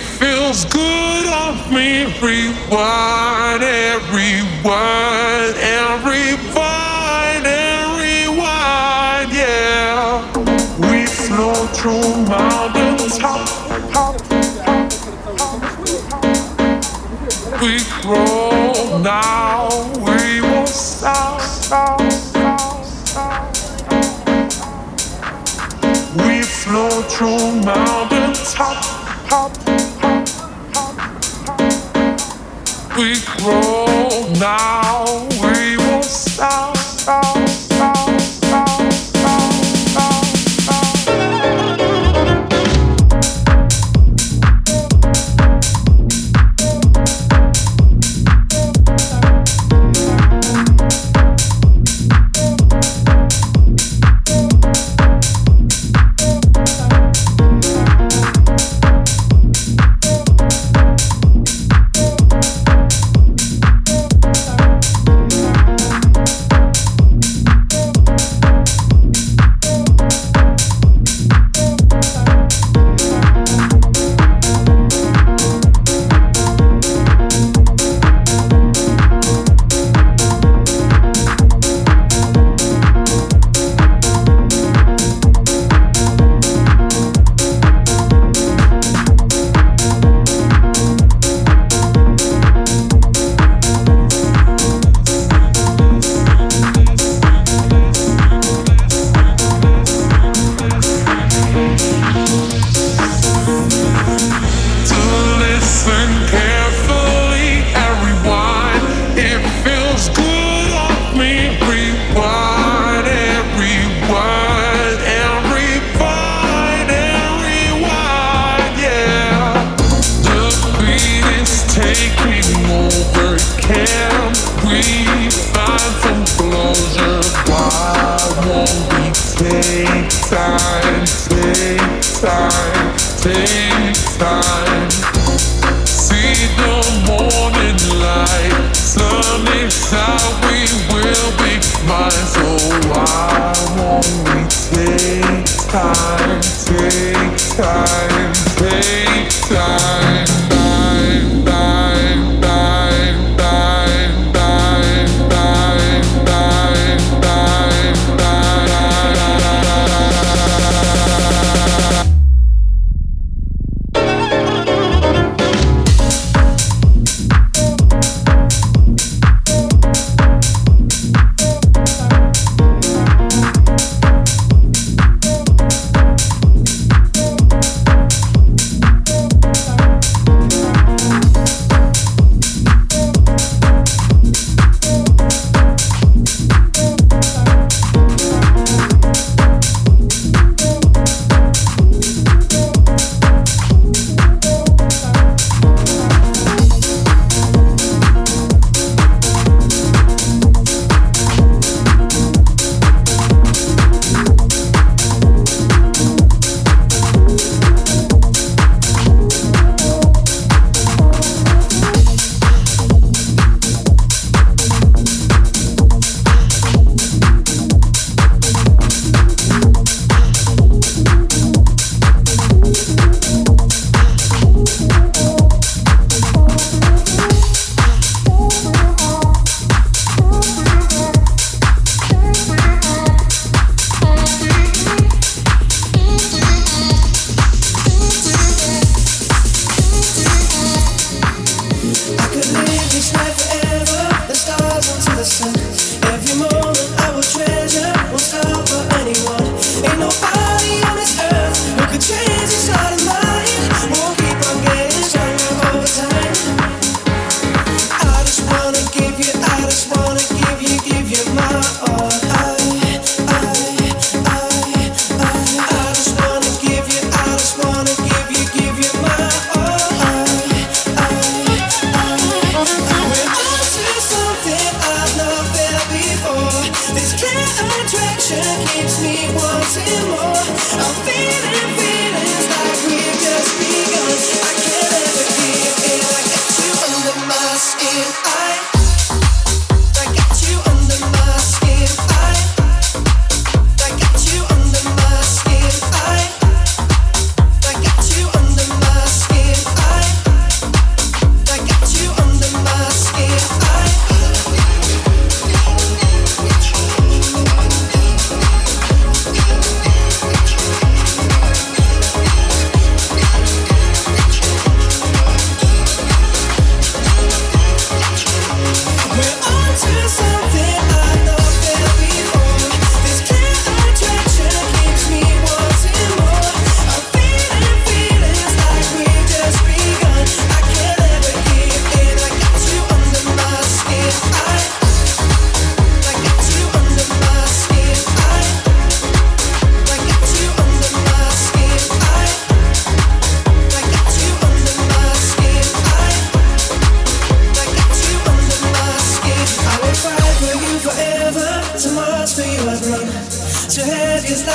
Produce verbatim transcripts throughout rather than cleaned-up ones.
feels good on me. Rewind and rewind and rewind and rewind, yeah. We flow through mountains, top, top, we grow now, we won't stop, stop, stop, stop. We flow through mountains, top, top, top, top, top. We grow now, we won't stop, stop, stop, stop, stop, stop,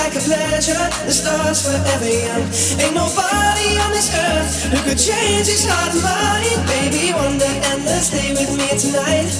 like a pleasure. The stars forever young. Ain't nobody on this earth who could change this heart of mine. Baby, wonder endlessly with me tonight.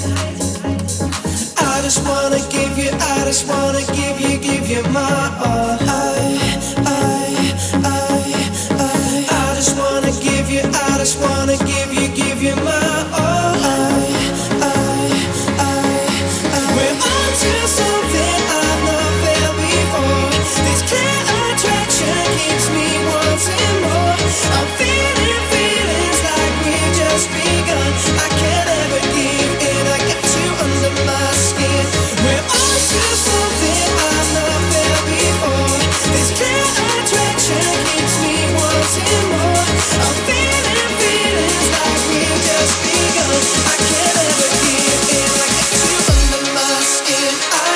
I just wanna give you, I just wanna give you, give you my all. I, I, I, I, I just wanna give you, I just wanna give you, give you my all. I, I, I, I. We're on to something I've not felt before. This clear attraction keeps me wanting more. I'm feeling feelings like we've just begun. I can't ever give in, I get you under my skin. We're on to something I've not felt before. This clear attraction keeps me wanting more. I'm feeling feelings like we've just begun. I can't ever give in, I get you under my skin. I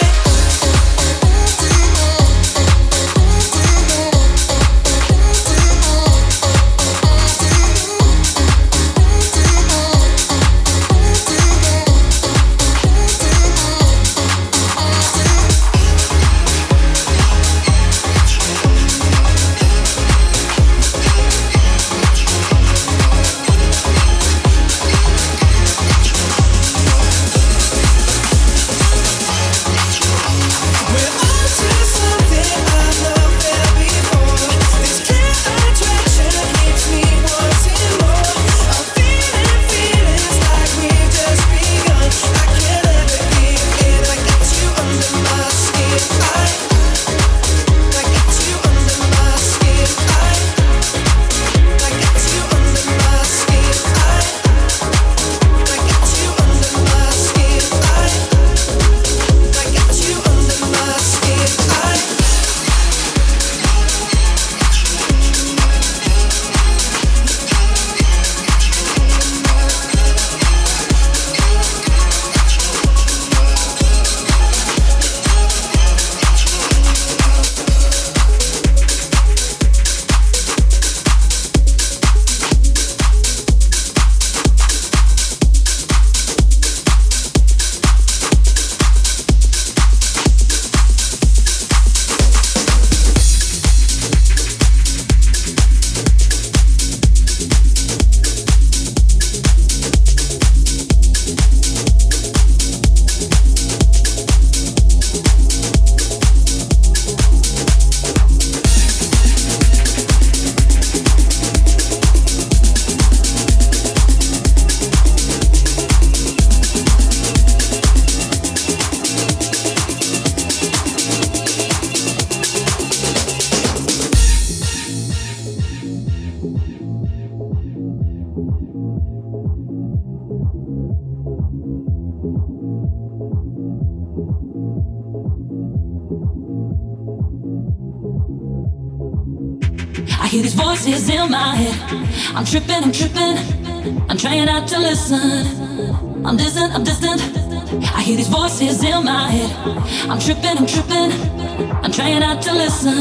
hear these voices in my head. I'm tripping, I'm tripping. I'm trying not to listen. I'm distant, I'm distant. I hear these voices in my head. I'm tripping, I'm tripping. I'm trying not to listen.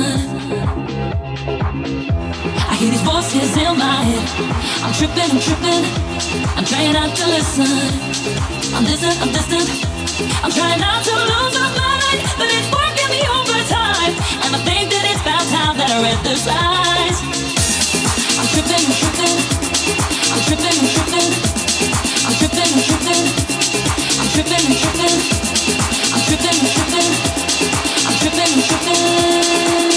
I hear these voices in my head. I'm tripping, I'm tripping. I'm trying not to listen. I'm distant, I'm distant. I'm trying not to lose my mind, but it's working me overtime. And I think that it's about time that I read the signs. I'm tripping, I'm tripping. I'm tripping, I'm tripping. I'm tripping, I'm tripping. I'm tripping, I'm tripping. I'm tripping, I'm tripping. I'm tripping, I'm tripping.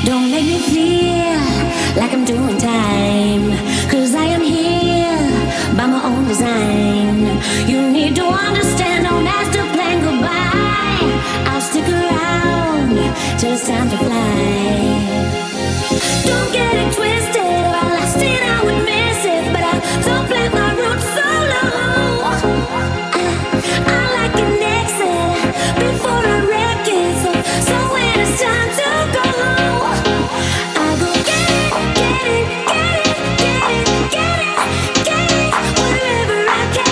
Don't make me feel like I'm doing time, 'cause I am here by my own design. You need to understand, don't have to plan goodbye. I'll stick around till it's time to fly. Don't get it twisted, if I lasted I would miss it, but I don't plant my roots so low. I, I like an exit before I wreck it, so, so when it's time to go, I go get it, get it, get it, get it, get it, get it, wherever I can.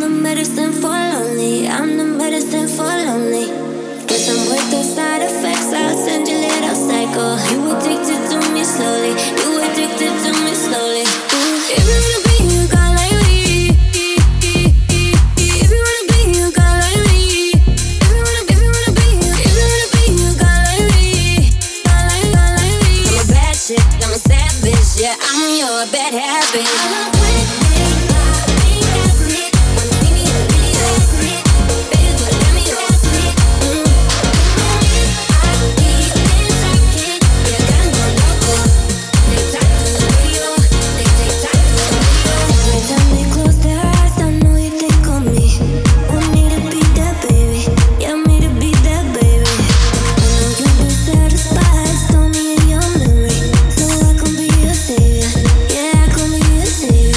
the medicine for lonely. I'm the medicine for lonely. Guess I'm with the side effects. I'll send you little psycho. You addicted to me slowly. You addicted to me slowly. If you wanna be a girl like me, if you wanna be a girl like me, if you wanna, if you wanna be, if you wanna be a girl like me, girl like, girl like me. I'm a bad chick. I'm a savage. Yeah, I'm your bad habit. I'm a savior. Yeah, I can be a savior.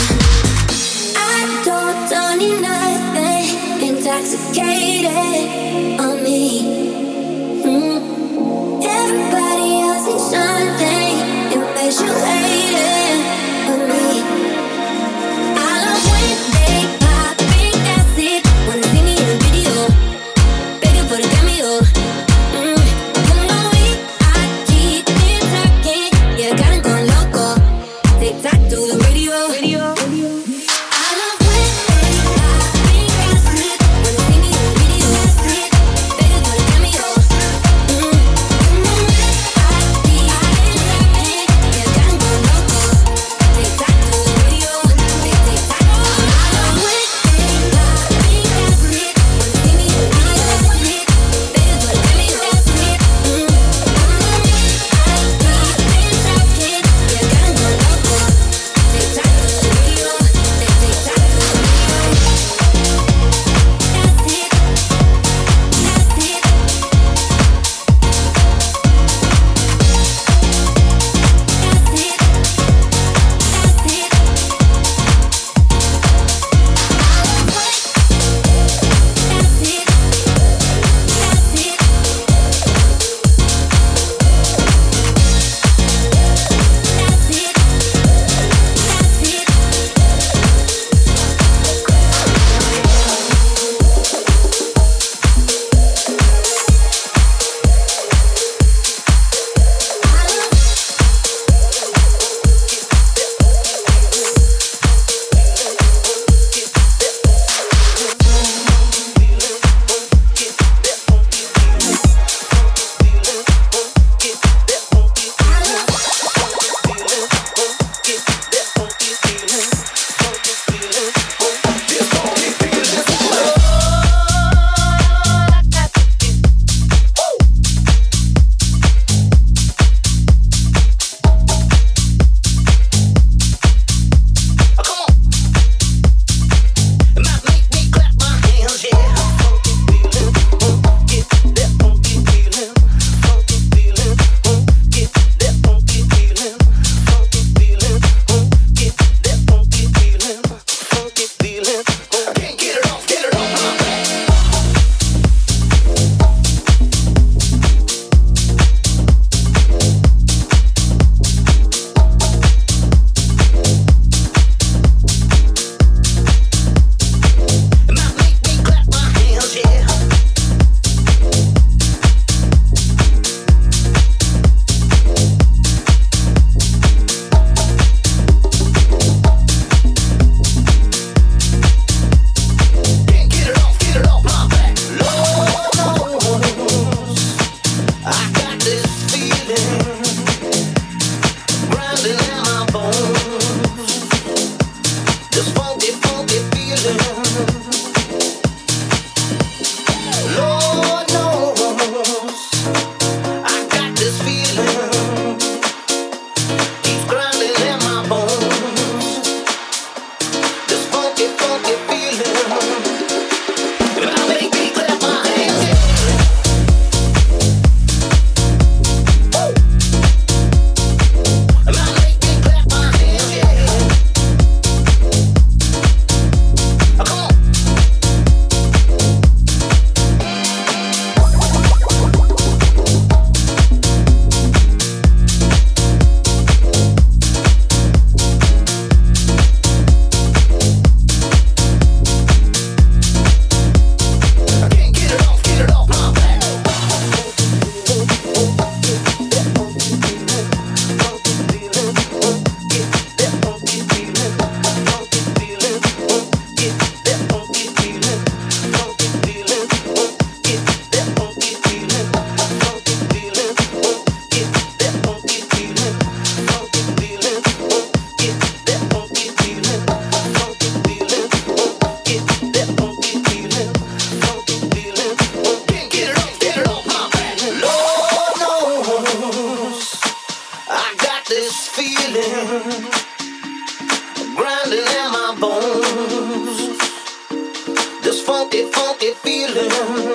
funky feeling.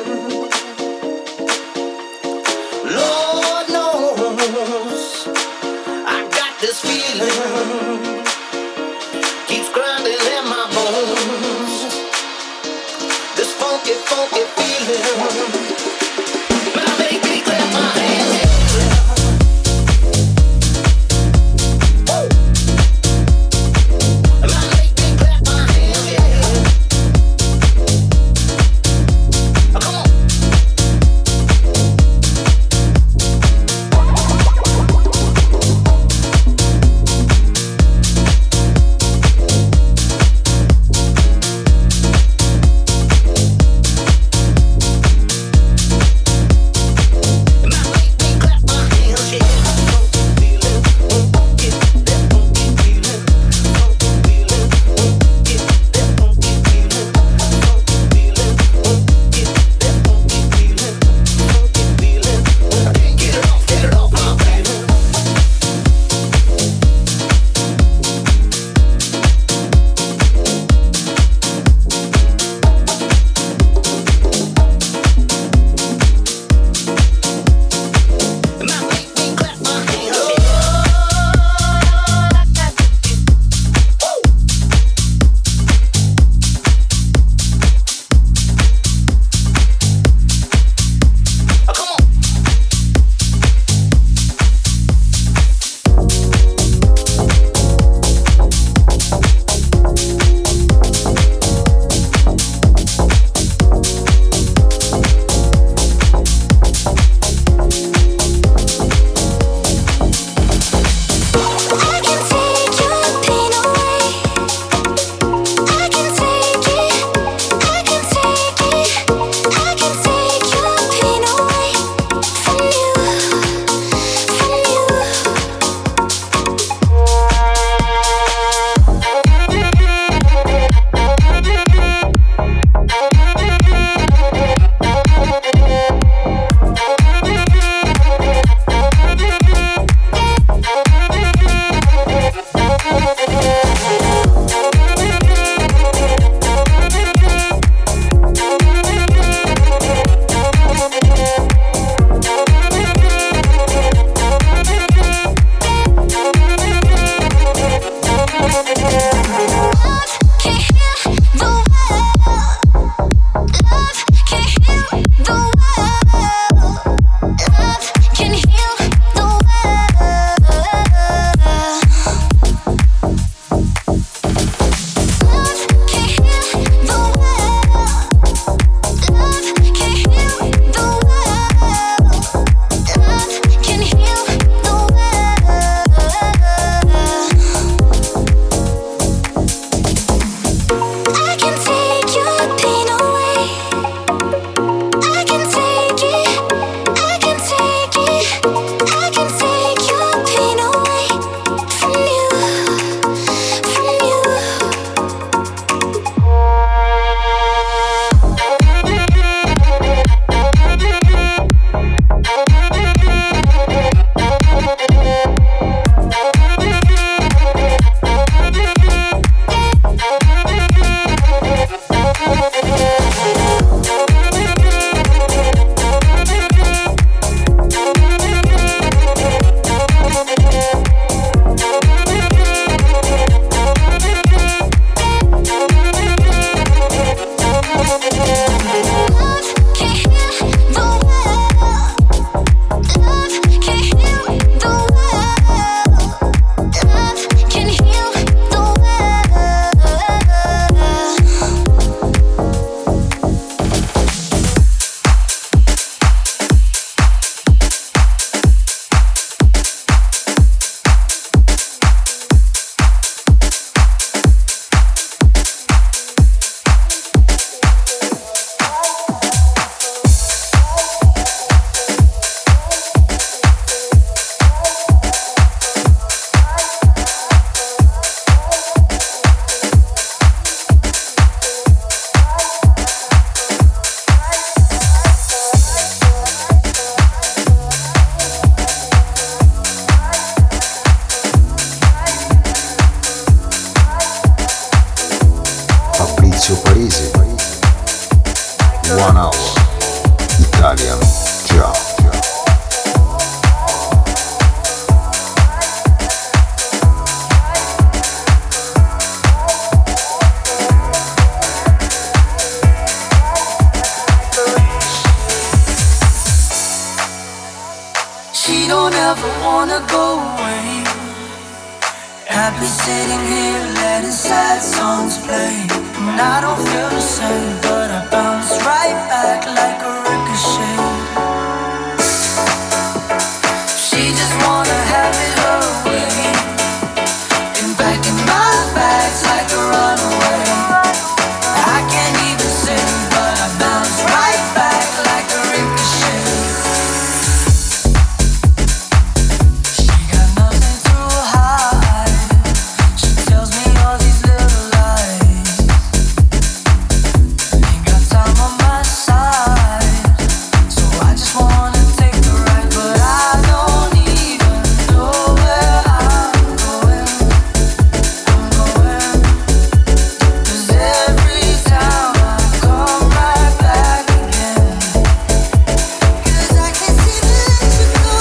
Lord knows I got this feeling. Keeps grinding in my bones. This funky, funky feeling. Now make me clap my hands. Maurizio Parisi. One Hour Italian Ciao. She don't ever wanna go away. Happy sitting here letting sad songs play. And I don't feel the same, but I bounce right back like a ricochet. She just wanna have it her way. And back in my bags like a runaway. I can't even sing, but I bounce right back like a ricochet. She got nothing to hide. She tells me all these little lies. Ain't got time on my side, so I just wanna take the ride. But I don't even know where I'm going. I'm going, 'cause every time I come right back again. 'Cause I can't seem to let you go.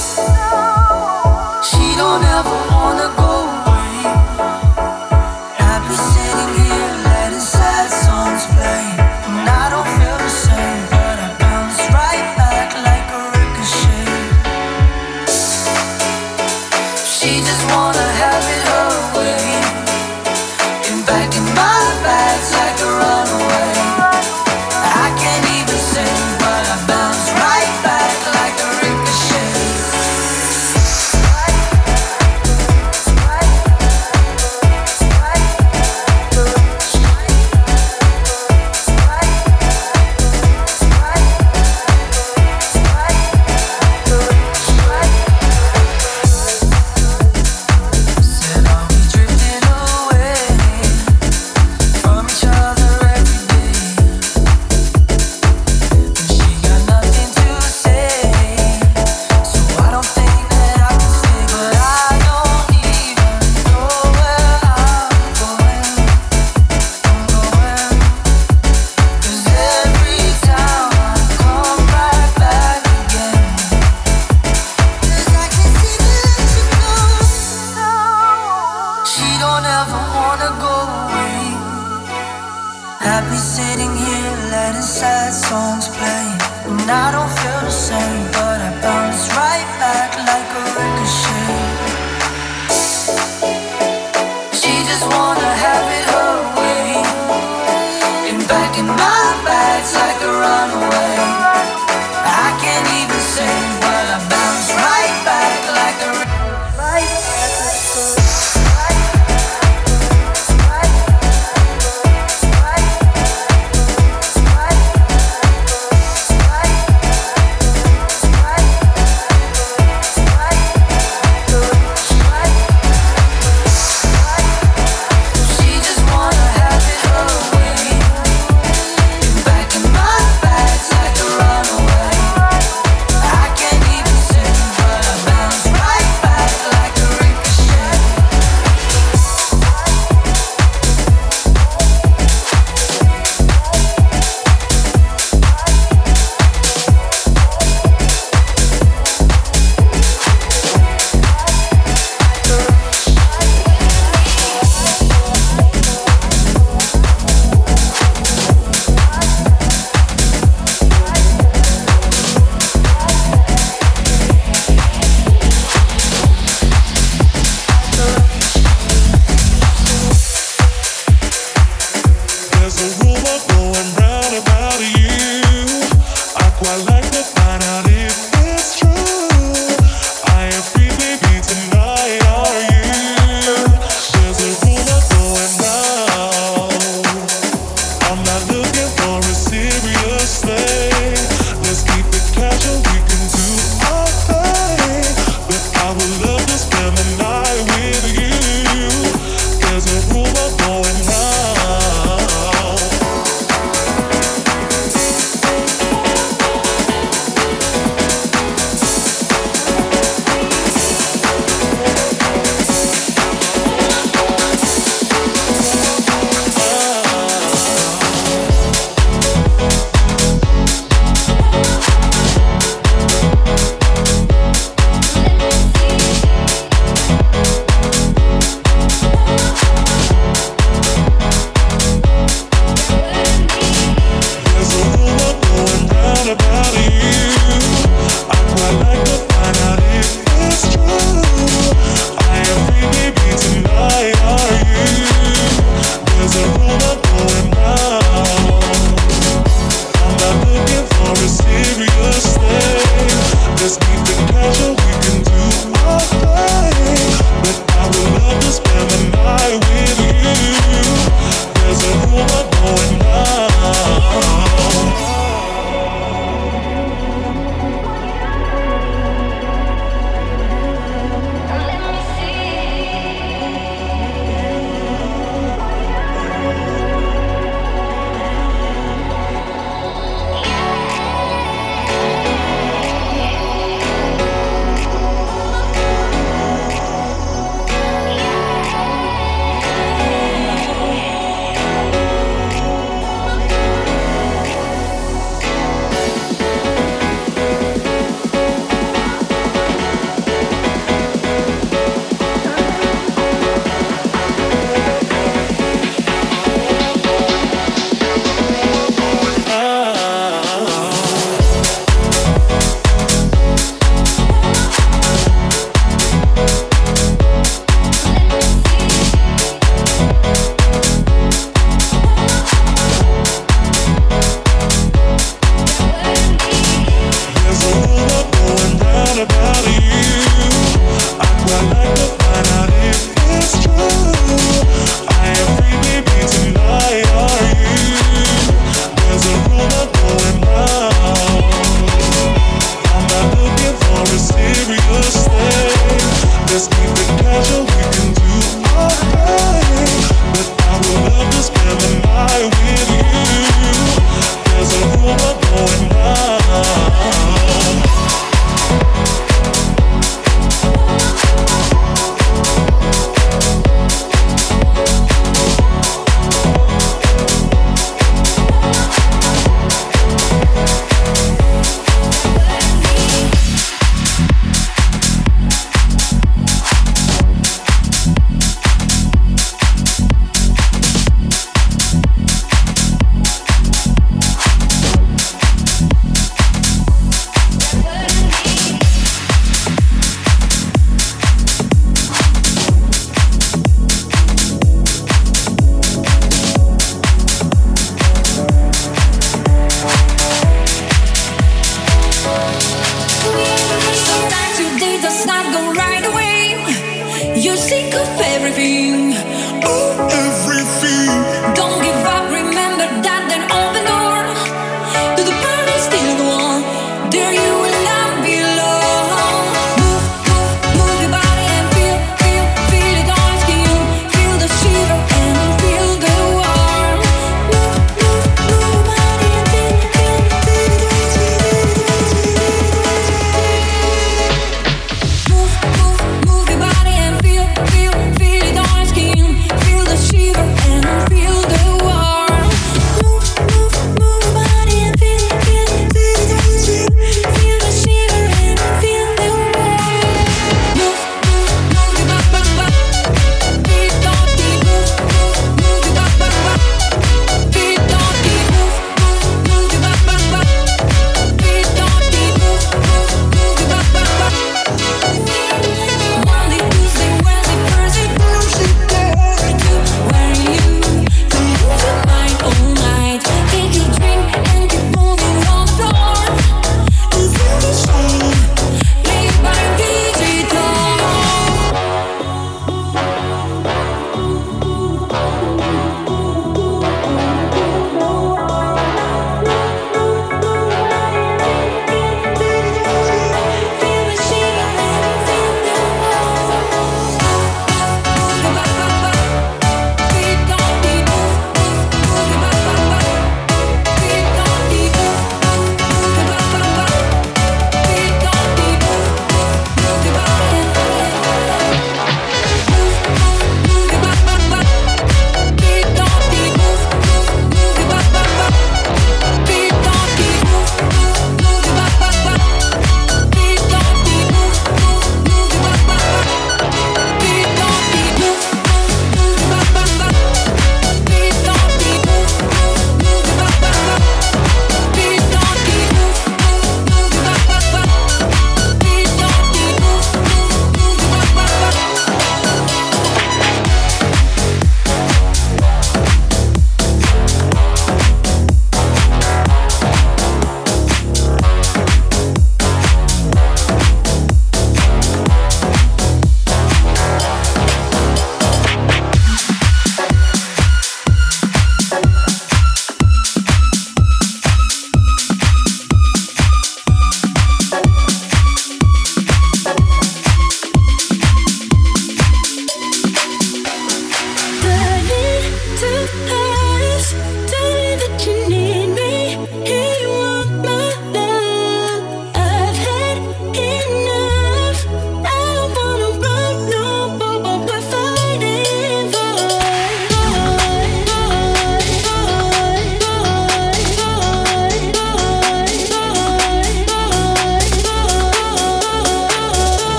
She don't ever wanna go away. Happy sitting here letting sad songs play. And I don't feel the same, but I bounce right back like a ricochet. She just wanna have it her way. And back in my bags like a runaway. I can't even sing, but I bounce right back like a ricochet. Said, are we drifting away from each other every day? And she got nothing to say, so I don't think that I can stay. But I don't even know where I'm going. I'm going, 'cause every time I come right back again. 'Cause I can't seem to let you go. She don't ever wanna go away. Happy sitting here letting sad songs play. And I don't feel the same, but I bounce right back like a ricochet. She just wanna have it her way. And back in my bags like a runaway. I can't even sing, but I bounce right back like a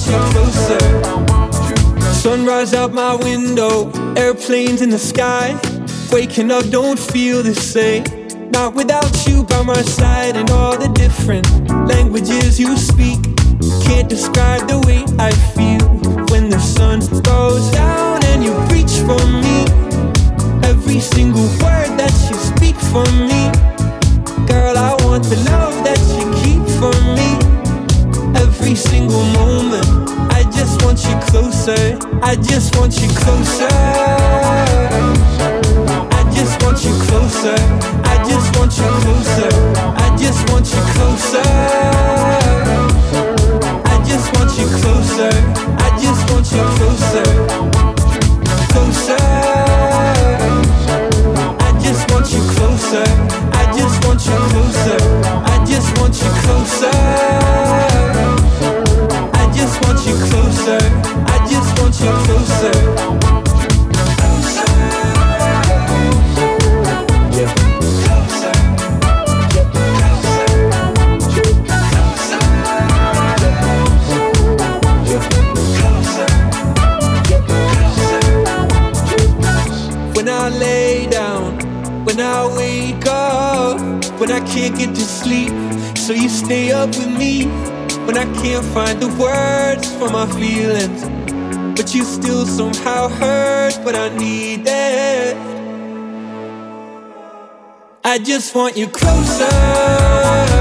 you closer. Sunrise out my window, airplanes in the sky. Waking up don't feel the same, not without you by my side. And all the different languages you speak can't describe the way I feel when the sun goes down and you reach for me. Every single word that you speak for me, girl, I want the love that you keep for me. Every single moment, I just want you closer. I just want you closer. I just want you closer. I just want you closer. I just want you closer. I just want you closer. I just want you closer. Closer. I just want you closer. I just want you closer. I just want you closer. I just want you closer. I just want you closer. Closer. Yeah. Closer. Yeah. Closer. Closer. Yeah. Closer. When I lay down, when I wake up, when I can't get to sleep, so you stay up with me. When I can't find the words for my feelings, but you still somehow hurt what I needed. I just want you closer.